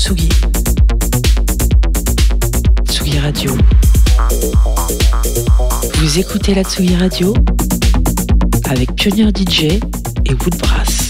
Tsugi. Tsugi Radio. Vous écoutez la Tsugi Radio avec Pionnier DJ et Woodbrass.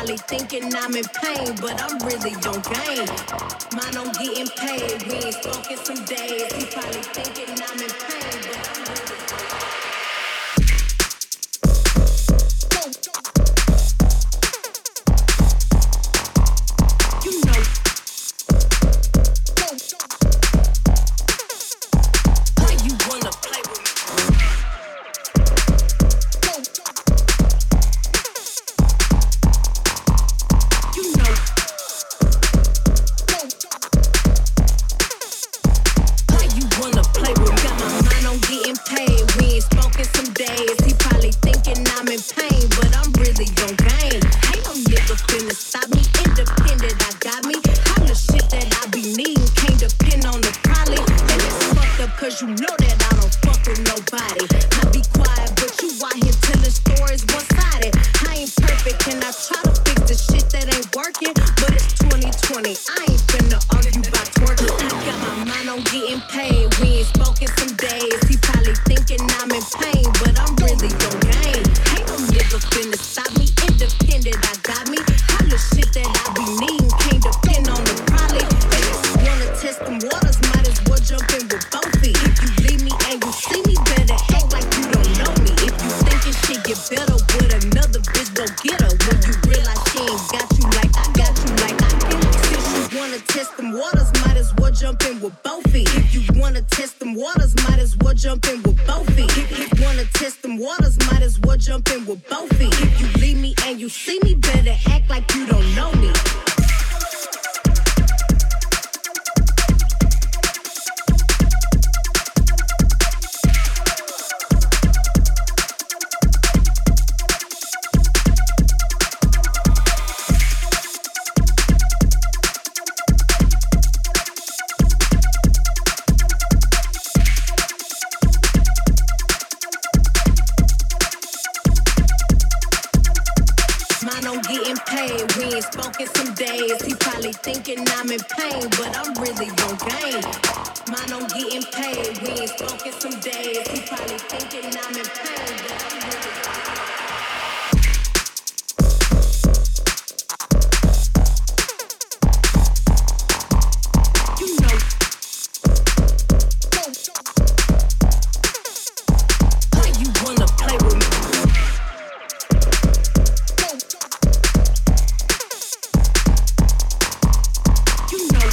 probably thinking I'm in pain, but I'm really on game. Mine on getting paid, we ain't spoken some days. He probably thinking I'm in pain, but I'm really you know. Why you wanna play with me? You know. Why you wanna play with me? Got my mind on getting paid. We ain't spoken some days. He probably thinking I'm in pain, but I'm really on game. Ain't no nigga finna stop me. Independent, I got me. All the shit that I be needing can't depend on the probably. And it's fucked up cause you know that I don't fuck with nobody. I be quiet, but you out here telling stories one-sided. I ain't perfect and I try to fix the shit that ain't working, but it's 2020. I ain't finna argue about twerking. I got my mind on getting paid. We ain't spoken some days. He probably thinking I'm in pain, but I'm really on game. Ain't no nigga finna stop me. Independent, I got me. All the shit that I be needing can't depend on the probably. They just wanna test them waters, might as well jump in with both feet. If you leave me and you see me, better act like you don't know me. If you thinking shit get better with another bitch, go get her. When you realize she ain't got you like I got you like I can. Since you wanna test them waters, might as well jump in with both feet. If you wanna test them waters, might as well jump in with both feet. If you wanna test them waters, might as well jump in with both feet. If you leave me and you see me, better act like you don't know me. Mine on getting paid, we ain't spoken some days. He probably thinking I'm in pain, but I'm really on game. Mine on getting paid, we ain't spoken some days. He probably thinking I'm in pain, but I'm really you know. Why you wanna play with me? You know.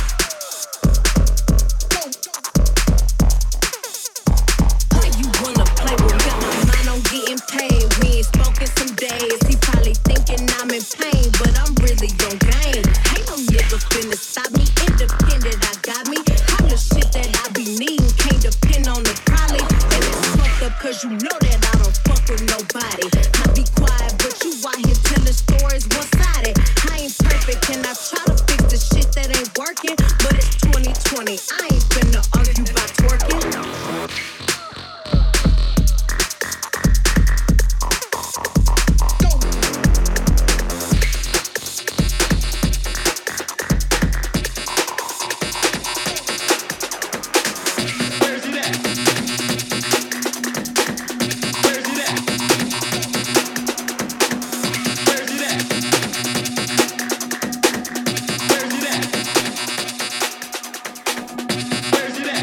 Why you wanna play with me? Got my mind on getting paid. We ain't spoken some days. He probably thinking I'm in pain, but I'm really on game. Ain't no nigga finna stop me. Independent, I got me. All the shit that I be needing can't depend on the probably. And it's fucked up cause you know that I don't fuck with nobody. I be quiet, but you out here telling stories one-sided. I ain't perfect and I try to fix the shit that ain't working, but it's 2020. I ain't finna argue about twerking. Where's it at?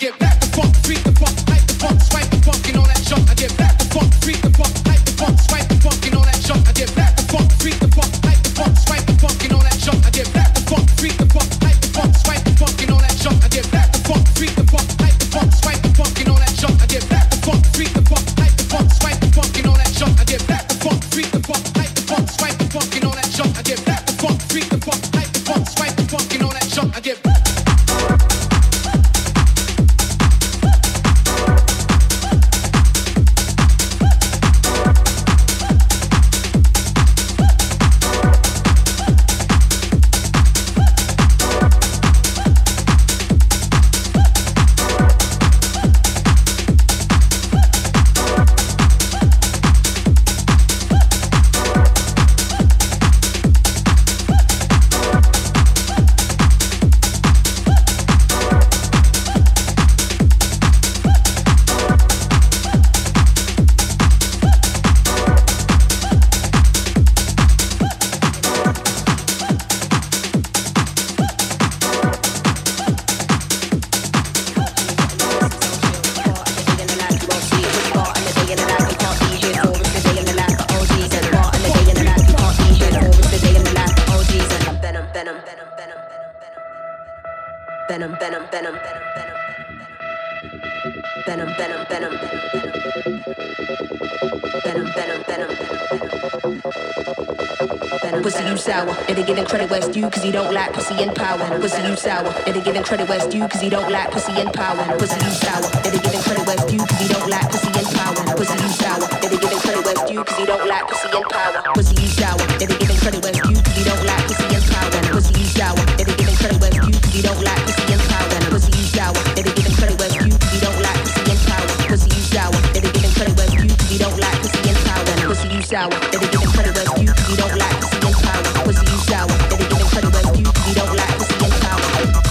Pussy you sour, it'll giving credit where it's due cause he don't like pussy and power. Pussy you sour, it'll giving credit where it's due cause he don't like pussy and power. Pussy you sour, it'll giving credit where it's due cause he don't like pussy and power. Pussy you sour, it'll giving credit where it's due cause he don't like pussy and power. Pussy you sour, it'll giving credit where it's due cause he don't like pussy and power. Pussy you sour, it'll giving credit where it's due cause he don't like pussy and power. Pussy you sour, it'll giving credit where it's due cause he don't like pussy and power. Pussy you sour, it'll giving credit where it's due cause he don't like pussy and power. Pussy you sour, it'll giving credit where it's due cause he don't like pussy and power. Pussy you sour, it'll giving credit where it's due cause he don't like pussy and power.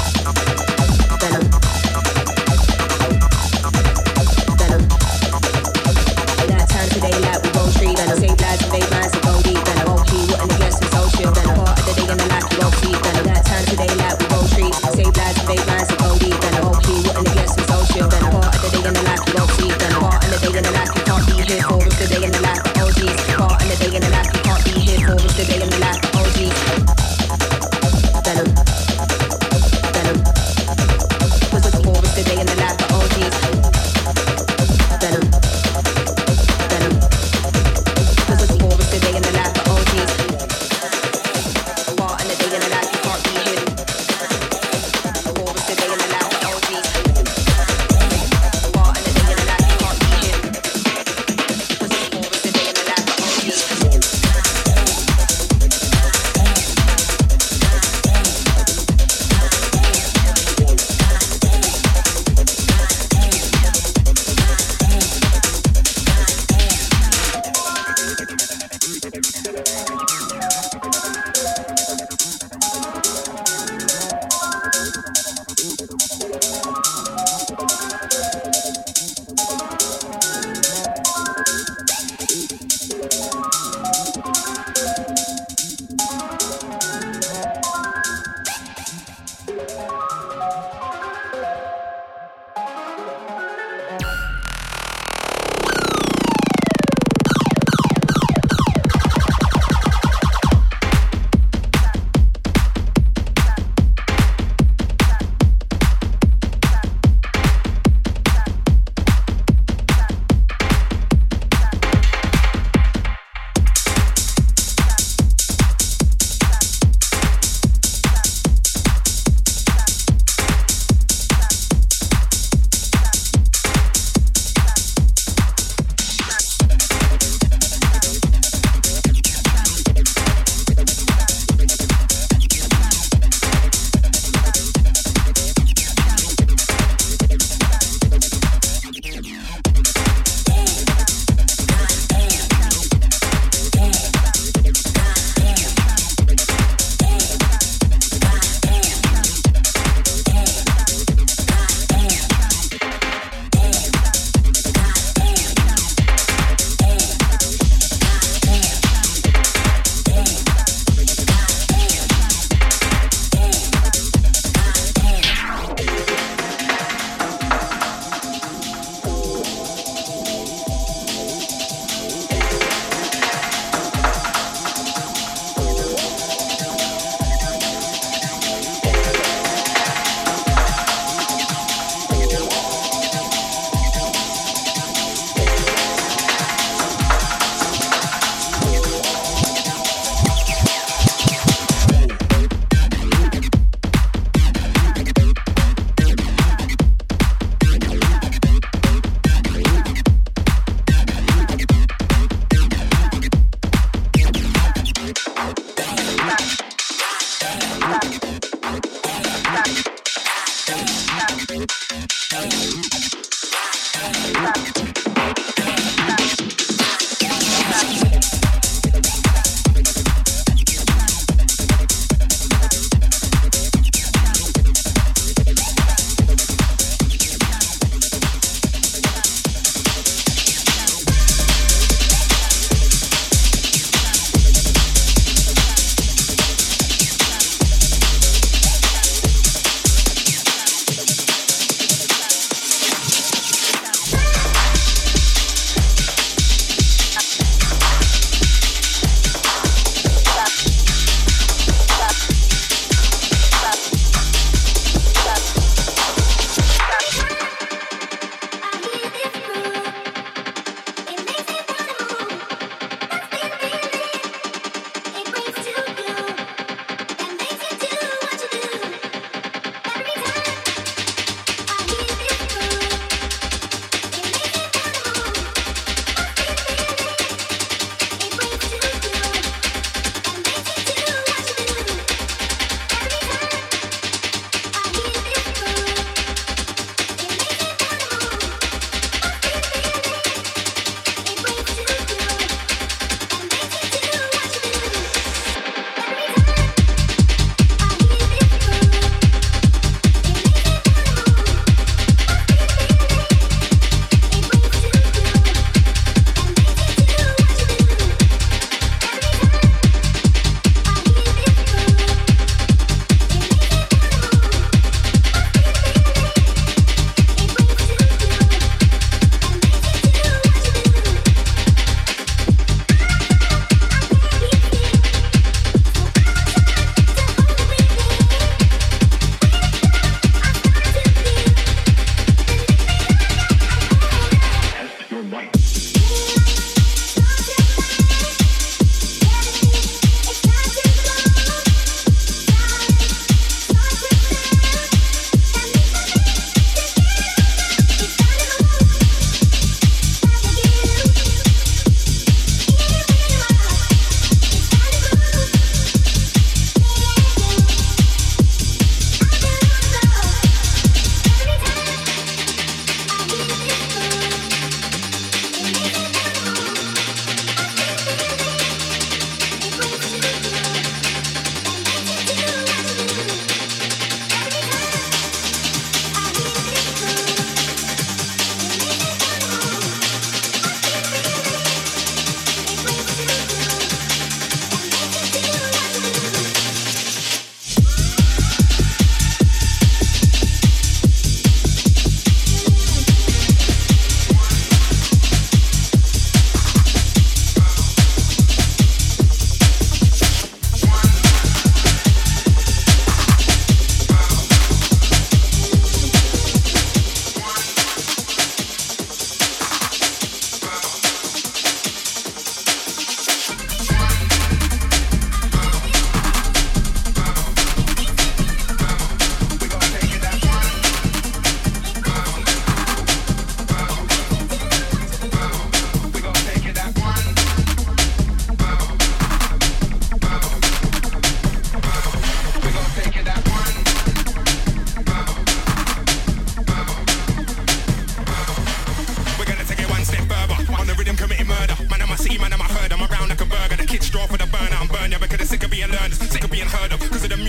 Venom. Venom. Night time today like we gon' treat. And the same lads and they minds that go deep. And I won't keep what and against it's so chill.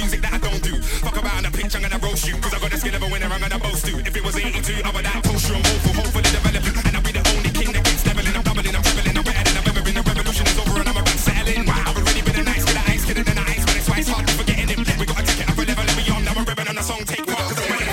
music that I don't do. Fuck about on the pitch, I'm gonna roast you. Cause I got the skill of a winner, I'm gonna boast to. If it was 82, I would that post you. I'm hopefully developing. And I'll be the only king that gets leveling. I'm doubling, I'm dribbling, I'm better than I've ever been. The revolution is over and I'm around settling. I've already been a nice kid, ice kid, and then I ice, but it's why it's hard to forgetting him. We gotta take it up a level and beyond. Now I'm ribbon on the song, take part. Cause I'm winning.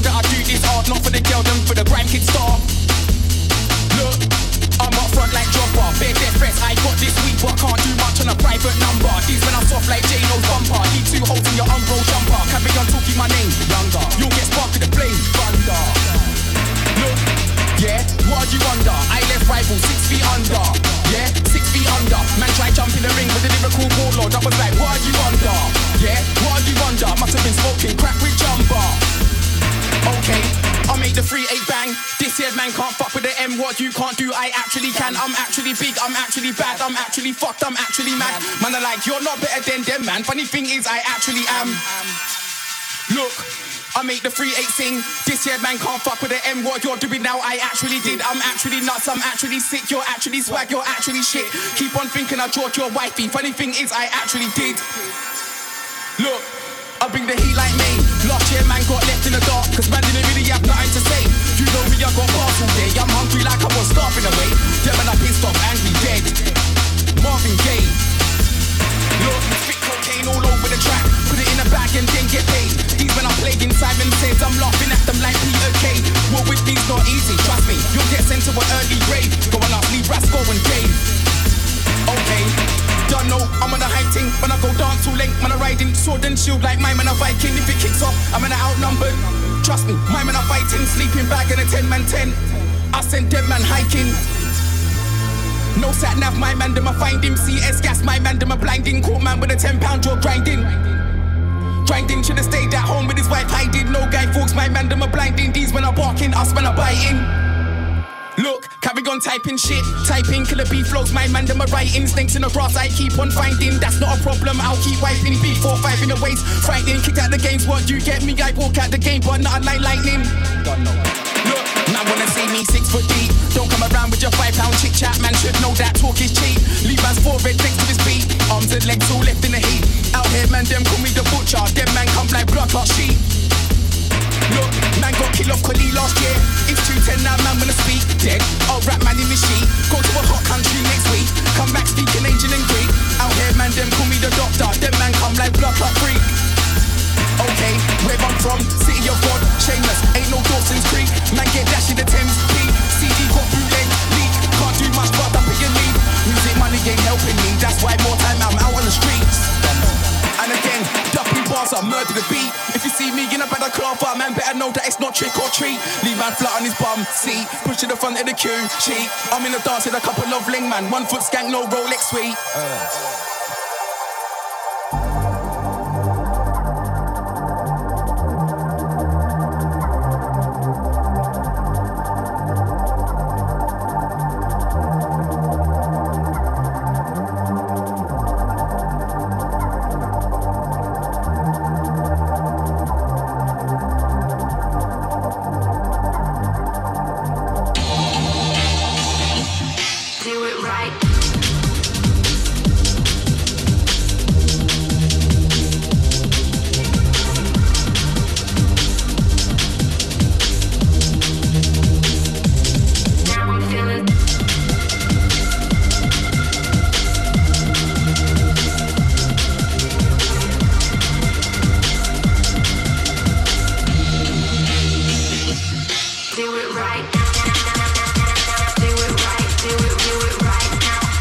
not for the girl, them for the grime kid star. Look, I'm up front like Job These men are soft like J-Lo's bumper. Leave 2 holes in your unrolled jumper. Carry on talking my name, younger. You'll get sparked with the flame, thunder. Look, yeah, what are you under? I left rival 6 feet under. Yeah, 6 feet under. Man try jump in the ring with a lyrical warlord. I was like, what are you under? Yeah, what are you under? Must have been smoking crack with jumper. Okay, I'll make the 3-8 bang. This here man can't fuck with the M. What you can't do, I actually can. I'm actually big, I'm actually bad, I'm actually fucked, I'm actually mad. Man are like, you're not better than them, man. Funny thing is, I actually am. Look, I make the 3-8 sing. This here man can't fuck with the M. What you're doing now, I actually did. I'm actually nuts, I'm actually sick. You're actually swag, you're actually shit. Keep on thinking I brought your wifey. Funny thing is, I actually did. Look, I bring the heat like me. Last year man got left in the dark, cause man didn't really have nothing to say. You know me, I got bars all day. I'm hungry like I was starving away. Them man I pissed off, angry, dead. Marvin Gaye. Look, spit cocaine all over the track. Put it in a bag and then get paid. These men are playing Simon Says. I'm laughing at them like Peter Kay. What with me's not easy, trust me. You'll get sent to an early grave. Go on up, leave Rasco and Dave. Okay, don't know, I'm on a hype ting. When I go dance too late, man I riding sword and shield like my man a Viking. If it kicks off, I'm in a outnumbered. Trust me, my man a fighting. Sleeping bag in a 10-man 10. I sent dead man hiking. No sat nav, my man them a find him. CS gas, my man them a blinding. Caught man with a 10-pound jaw grinding. Grinding, should've stayed at home with his wife hiding. No guy folks, my man them a blinding. These men are barking, us men are biting. Look, carry on typing shit. Typing killer beef flows, my man them are writing. Snakes in the grass I keep on finding. That's not a problem, I'll keep wiping. B4-5 in the waist, frightening. Kicked out the games, what you get me? I walk out the game, but not like lightning. Look, man wanna see me 6 foot deep. Don't come around with your 5-pound chit chat. Man should know that talk is cheap. Leave man's 4 red next to his feet. Arms and legs all left in the heat. Out here man them call me the butcher. Them man come like blood clot sheep. Look, man got killed off Khalil last year. It's 210 now, man wanna speak. Dead, I'll rap man in the sheet. Go to a hot country next week. Come back speaking ancient and Greek. Out here man, them call me the doctor. Them man come like blood clot freak. Okay, where I'm from, city of God, shameless. Ain't no Dawson's Creek. Man get dash in the Thames P. CD got bootleg, leak. Can't do much but up in your league. Music money ain't helping me. That's why more time I'm out on the streets. And again, dumping bars are murder the beat. If you see me in a better cloth, man better know that it's not trick or treat. Leave man flat on his bum seat, push to the front of the queue, cheat. I'm in the dance with a couple of ling man, 1 foot skank, no Rolex sweet. Do it right. Do it right. Do it right now.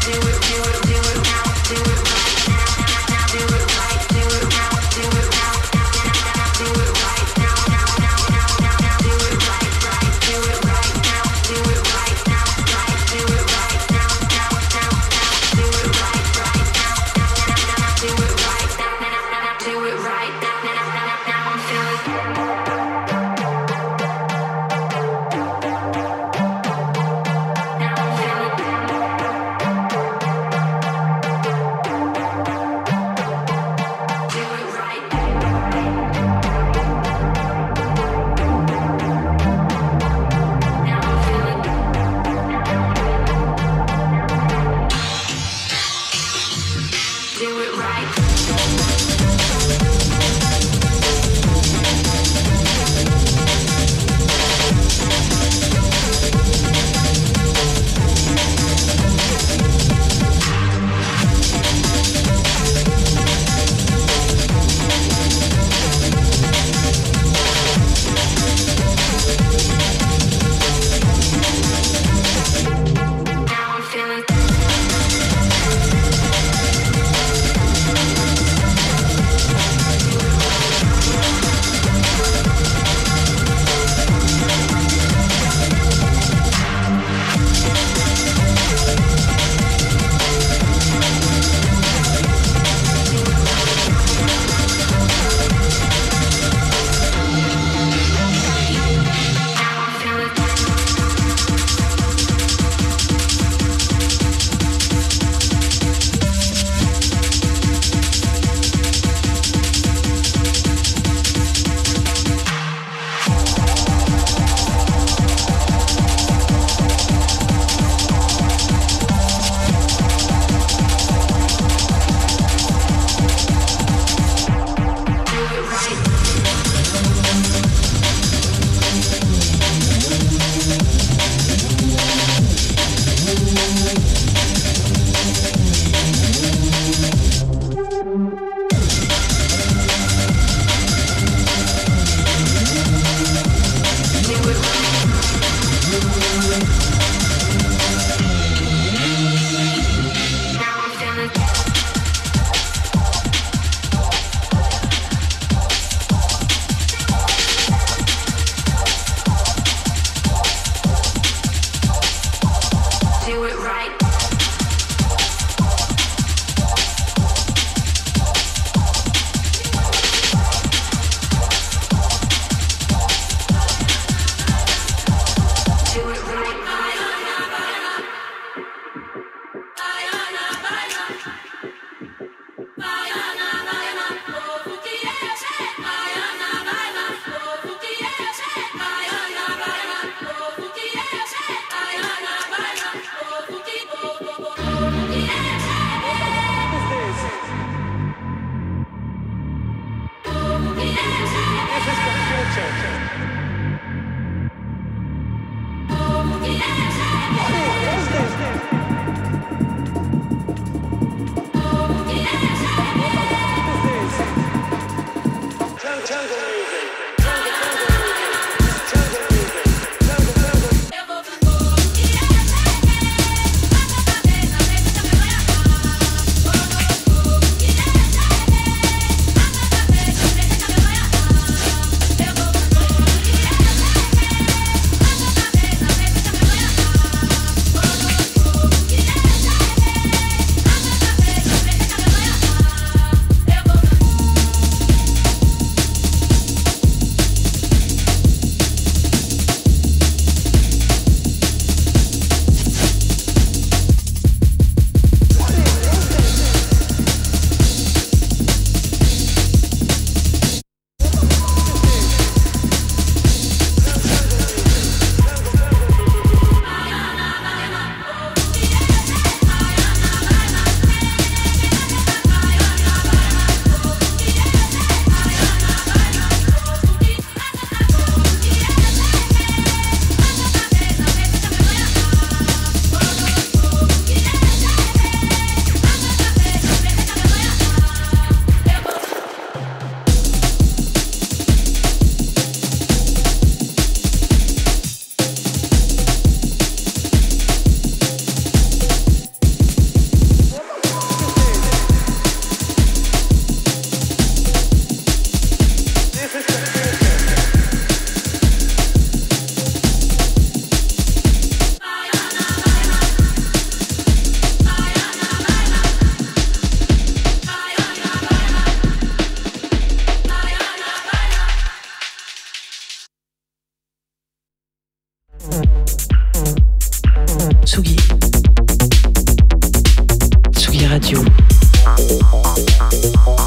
Tsugi. Tsugi Radio.